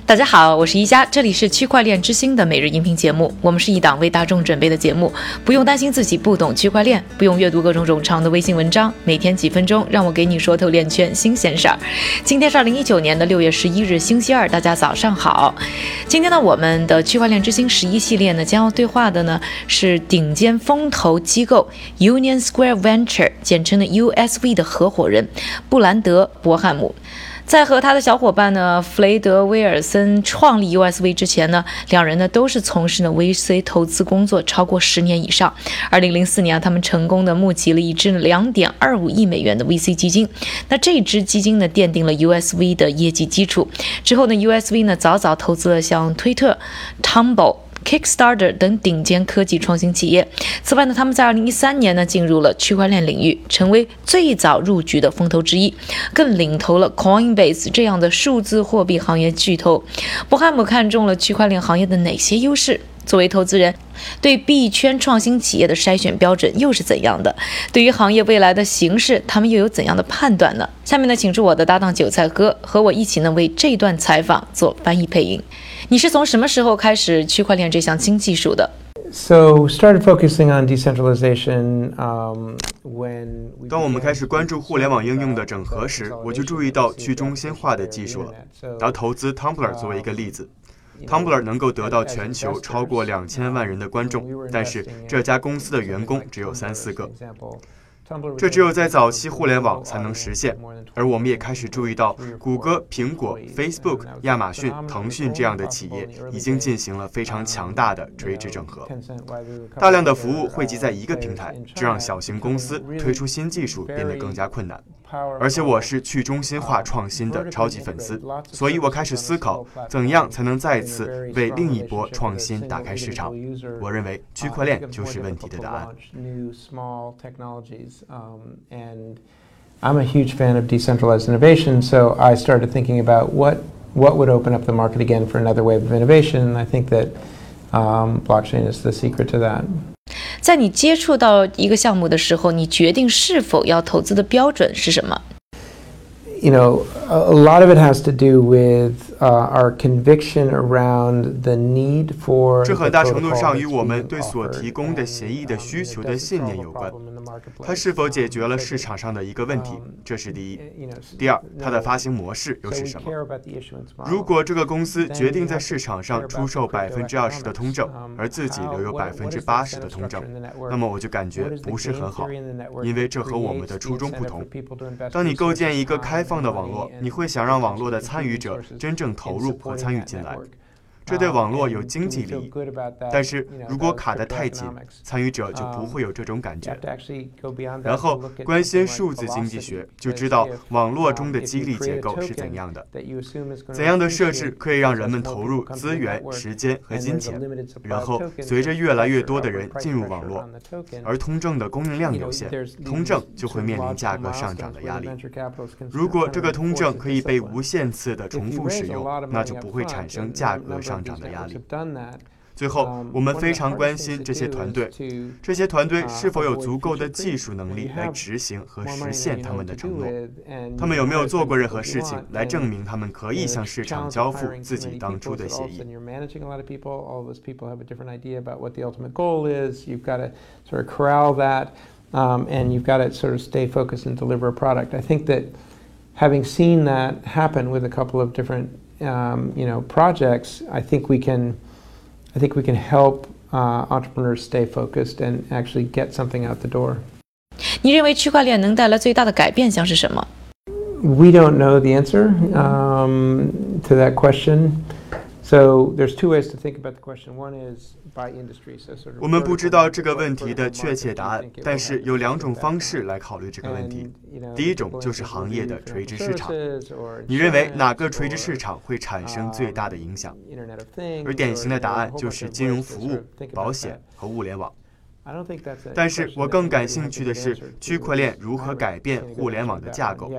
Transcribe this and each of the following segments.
大家好，我是一加，这里是区块链之星的每日音频节目。我们是一档为大众准备的节目，不用担心自己不懂区块链，不用阅读各种冗长的微信文章，每天几分钟，让我给你说透链圈新鲜事儿。今天是2019年6月11日，星期二，大家早上好。今天呢，我们的区块链之星11系列呢，将要对话的呢是顶尖风投机构 Union Square Venture， 简称的 USV 的合伙人布兰德·伯汉姆。在和他的小伙伴呢弗雷德·威尔森创立 USV 之前呢，两人呢都是从事呢 VC 投资工作超过10年以上。2004年他们成功的募集了一支2.25亿美元的 VC 基金。那这支基金呢奠定了 USV 的业绩基础。之后呢 USV 呢早早投资了像推特、Tumblr、Kickstarter 等顶尖科技创新企业。此外呢，他们在2013年呢进入了区块链领域，成为最早入局的风投之一，更领头了 Coinbase 这样的数字货币行业巨头。伯汉姆看中了区块链行业的哪些优势？作为投资人，对币圈创新企业的筛选标准又是怎样的？对于行业未来的形势，他们又有怎样的判断呢？下面呢，请出我的搭档韭菜哥和我一起呢为这段采访做翻译配音。你是从什么时候开始区块链这项新技术的？ So started focusing on decentralization when 当我们开始关注互联网应用的整合时，我就注意到去中心化的技术了。拿投资 Tumblr 作为一个例子，Tumblr 能够得到全球超过2000万人的观众，但是这家公司的员工只有3-4个。这只有在早期互联网才能实现，而我们也开始注意到，谷歌、苹果、Facebook、亚马逊、腾讯这样的企业已经进行了非常强大的垂直整合，大量的服务汇集在一个平台，这让小型公司推出新技术变得更加困难。而且我是去中心化创新的超级粉丝，所以我开始思考怎样才能再次为另一波创新打开市场。我认为区块链就是问题的答案。 I'm a huge fan of decentralized innovation, so I started thinking about what would open up the market again for another wave of innovation. And I think that blockchain is the secret to that. 在你接触到一个项目的时候，你决定是否要投资的标准是什么？ You know, a lot of it has to do with our conviction around the need for. 这很大程度上与我们对所提供的协议的需求的信念有关。它是否解决了市场上的一个问题？这是第一。第二，它的发行模式又是什么？如果这个公司决定在市场上出售20%的通证，而自己留有80%的通证，那么我就感觉不是很好，因为这和我们的初衷不同。当你构建一个开放的网络，你会想让网络的参与者真正投入和参与进来，这对网络有经济利益。但是如果卡得太紧，参与者就不会有这种感觉。然后关心数字经济学，就知道网络中的激励结构是怎样的，怎样的设置可以让人们投入资源、时间和金钱。然后随着越来越多的人进入网络，而通证的供应量有限，通证就会面临价格上涨的压力。如果这个通证可以被无限次的重复使用，那就不会产生价格上涨的压力。最后，我们非常关心这些团队是否有足够的技术能力来执行和实现他们的承诺，他们有没有做过任何事情来证明他们可以向市场交付自己当初的协议。 And you've got to sort of stay focused and deliver a product. I think that having seen that happen with a couple of different, projects, I think we can help entrepreneurs stay focused and actually get something out the door. 你认为区块链能带来最大的改变像是什么？ We don't know the answer to that question. So there's two ways to think about the question. One is by industry. So sort of 我们不知道这个问题的确切答案，但是有2种方式来考虑这个问题。第一种就是行业的垂直市场，你认为哪个垂直市场会产生最大的影响？而典型的答案就是金融服务、保险和物联网。但是我更感兴趣的是区块链如何改变互联网的架构。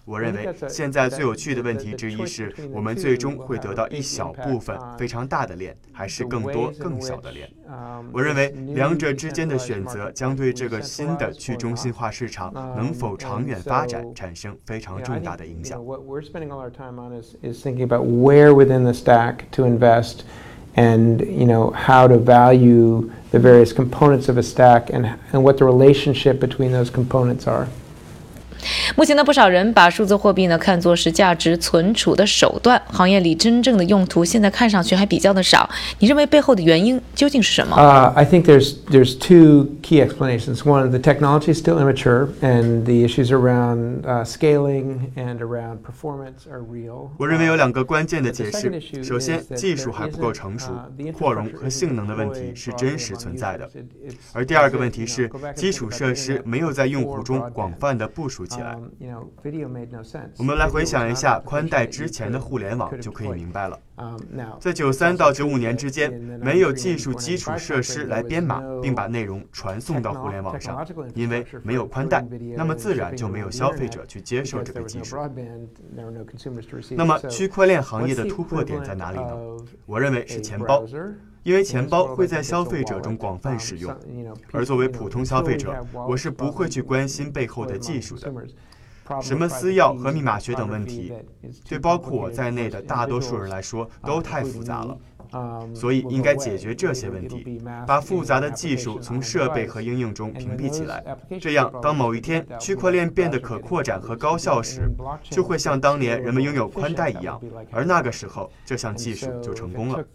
我认为现在最有趣的问题之一是，我们最终会得到一小部分非常大的链，还是更多更小的链。我认为两者之间的选择将对这个新的去中心化市场能否长远发展产生非常重大的影响。 What we're spending all our time on is thinking about where within the stack to invest, and how to value the various components of a stack, and what the relationship between those components are. 目前呢，不少人把数字货币呢看作是价值存储的手段，行业里真正的用途现在看上去还比较的少。你认为背后的原因究竟是什么 ？I think there's two key explanations. One, the technology is still immature, and the issues around scaling and around performance are real. 我认为有两个关键的解释。首先，技术还不够成熟，扩容和性能的问题是真实存在的。而第二个问题是，基础设施没有在用户中广泛的部署起来。我们来回想一下宽带之前的互联网，就可以明白了。在93到95年之间，没有技术基础设施来编码并把内容传送到互联网上，因为没有宽带，那么自然就没有消费者去接受这个技术。那么区块链行业的突破点在哪里呢？我认为是钱包。因为钱包会在消费者中广泛使用，而作为普通消费者，我是不会去关心背后的技术的。什么私钥和密码学等问题，对包括我在内的大多数人来说都太复杂了，所以应该解决这些问题，把复杂的技术从设备和应用中屏蔽起来。这样，当某一天区块链变得可扩展和高效时，就会像当年人们拥有宽带一样，而那个时候，这项技术就成功了。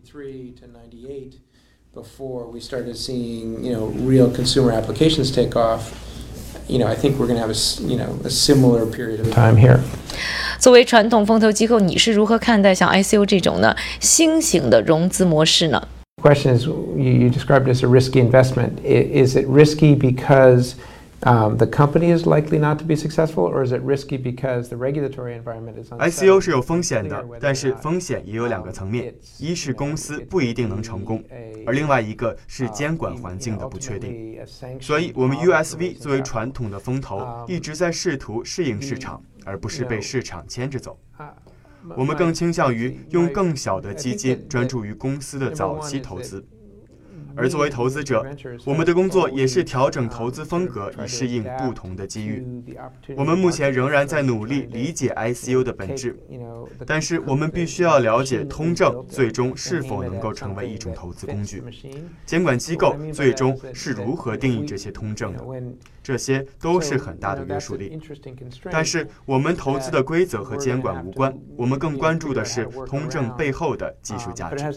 Before we started seeing, real consumer applications take off, I think we're going to have a similar period of time here. 作为传统风投机构，你是如何看待像 ICO 这种呢新型的融资模式呢？ The question is, you described it as a risky investment. Is it risky because the company is likely not to be successful, or is it risky because the regulatory environment is unsettled? ICO 是有风险的，但是风险也有两个层面，一是公司不一定能成功，而另外一个是监管环境的不确定。所以我们 USV 作为传统的风投，一直在试图适应市场，而不是被市场牵着走。我们更倾向于用更小的基金专注于公司的早期投资。而作为投资者，我们的工作也是调整投资风格以适应不同的机遇。我们目前仍然在努力理解 ICO 的本质，但是我们必须要了解通证最终是否能够成为一种投资工具，监管机构最终是如何定义这些通证的，这些都是很大的约束力。但是我们投资的规则和监管无关，我们更关注的是通证背后的技术价值。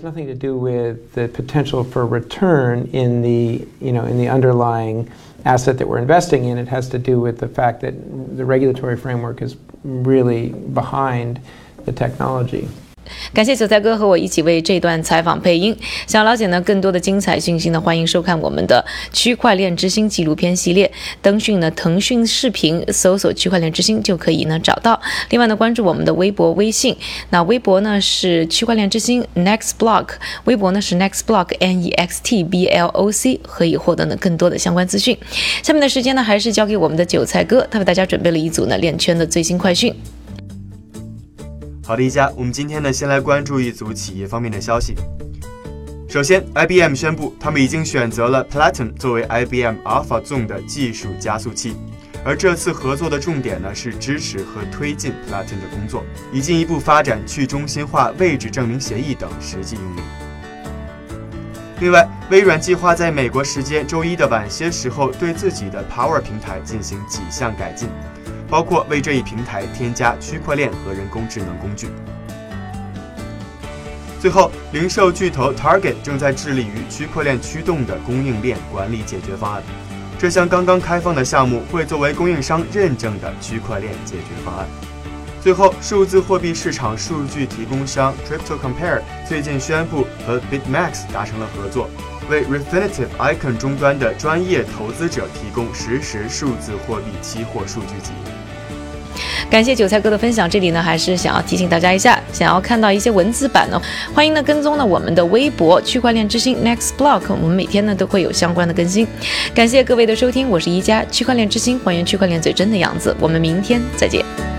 In the underlying asset that we're investing in, it has to do with the fact that the regulatory framework is really behind the technology. 感谢韭菜哥和我一起为这段采访配音。想了解呢更多的精彩讯息呢，欢迎收看我们的区块链之星纪录片系列。登讯呢腾讯视频搜索区块链之星就可以呢找到。另外呢关注我们的微博微信，那微博呢是区块链之星 NextBlock， 微博呢是 NextBlock NEXTBLOC， 可以获得呢更多的相关资讯。下面的时间呢还是交给我们的韭菜哥，他为大家准备了一组呢链圈的最新快讯。 好的，一家，我们今天呢，先来关注一组企业方面的消息。首先 ，IBM 宣布他们已经选择了 Platon 作为 IBM AlphaZone 的技术加速器，而这次合作的重点呢是支持和推进 Platon 的工作，以进一步发展去中心化位置证明协议等实际应用。另外，微软计划在美国时间周一的晚些时候对自己的 Power 平台进行几项改进。包括为这一平台添加区块链和人工智能工具。最后，零售巨头 Target 正在致力于区块链驱动的供应链管理解决方案。这项刚刚开放的项目会作为供应商认证的区块链解决方案。最后，数字货币市场数据提供商 CryptoCompare 最近宣布和 BitMax 达成了合作，为 Refinitiv Icon 终端的专业投资者提供实时数字货币期货数据集。 感谢韭菜哥的分享，这里呢还是想要提醒大家一下，想要看到一些文字版呢，欢迎呢跟踪呢我们的微博区块链之星 NextBlock， 我们每天呢都会有相关的更新。感谢各位的收听，我是一加，区块链之星还原区块链最真的样子，我们明天再见。